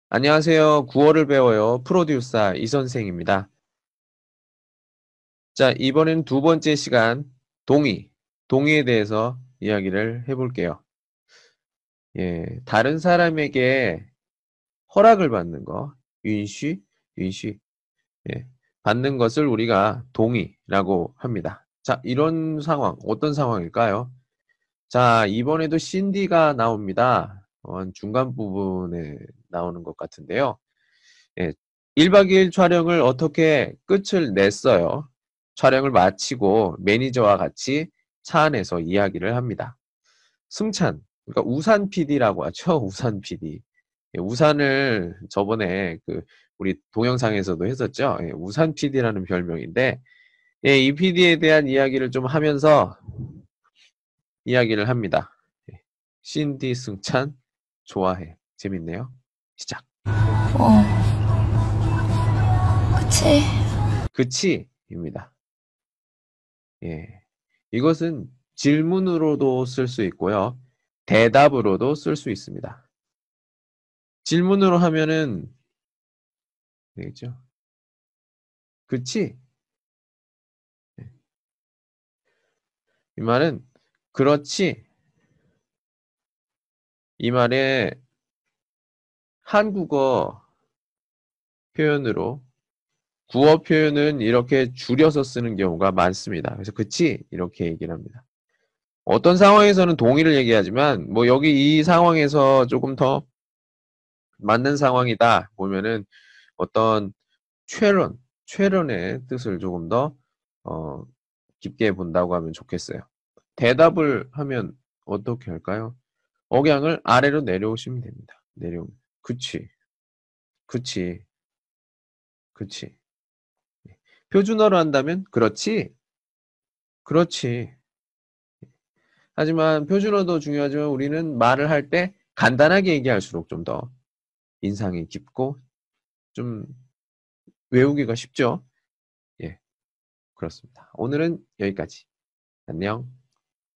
안녕하세요. 구어를 배워요. 프로듀서 이선생입니다. 자, 이번엔 두 번째 시간 동의에 대해서 이야기를 해볼게요. 예, 다른 사람에게 허락을 받는 거,允许, 예, 받는 것을 우리가 동의라고 합니다. 자, 이런 상황, 어떤 상황일까요? 자, 이번에도 신디가 나옵니다. 중간 부분에 나오는 것 같은데요. 예, 1박 2일 촬영을 어떻게 끝을 냈어요. 촬영을 마치고 매니저와 같이 차 안에서 이야기를 합니다. 승찬, 그러니까 우산 PD라고 하죠. 우산 PD. 예, 우산을 저번에 우리 동영상에서도 했었죠. 예, 우산 PD라는 별명인데, 예, 이 PD에 대한 이야기를 좀 하면서 이야기를 합니다. 예, 신디 승찬 좋아해. 재밌네요. 시작. 어, 그치. 그치입니다. 예. 이것은 질문으로도 쓸 수 있고요. 대답으로도 쓸 수 있습니다. 질문으로 하면은 되겠죠. 그치? 예. 이 말은 그렇지. 이 말에 한국어 표현으로 구어 표현은 이렇게 줄여서 쓰는 경우가 많습니다. 그래서 그치? 이렇게 얘기를 합니다. 어떤 상황에서는 동의를 얘기하지만 뭐 여기 이 상황에서 조금 더 맞는 상황이다 보면은 어떤 최론의 뜻을 조금 더 어, 깊게 본다고 하면 좋겠어요. 대답을 하면 어떻게 할까요? 억양을 아래로 내려오시면 됩니다. 내려오면. 그치, 그치, 그치. 표준어로 한다면 그렇지, 그렇지. 하지만 표준어도 중요하지만 우리는 말을 할 때 간단하게 얘기할수록 좀 더 인상이 깊고 좀 외우기가 쉽죠. 예, 그렇습니다. 오늘은 여기까지. 안녕.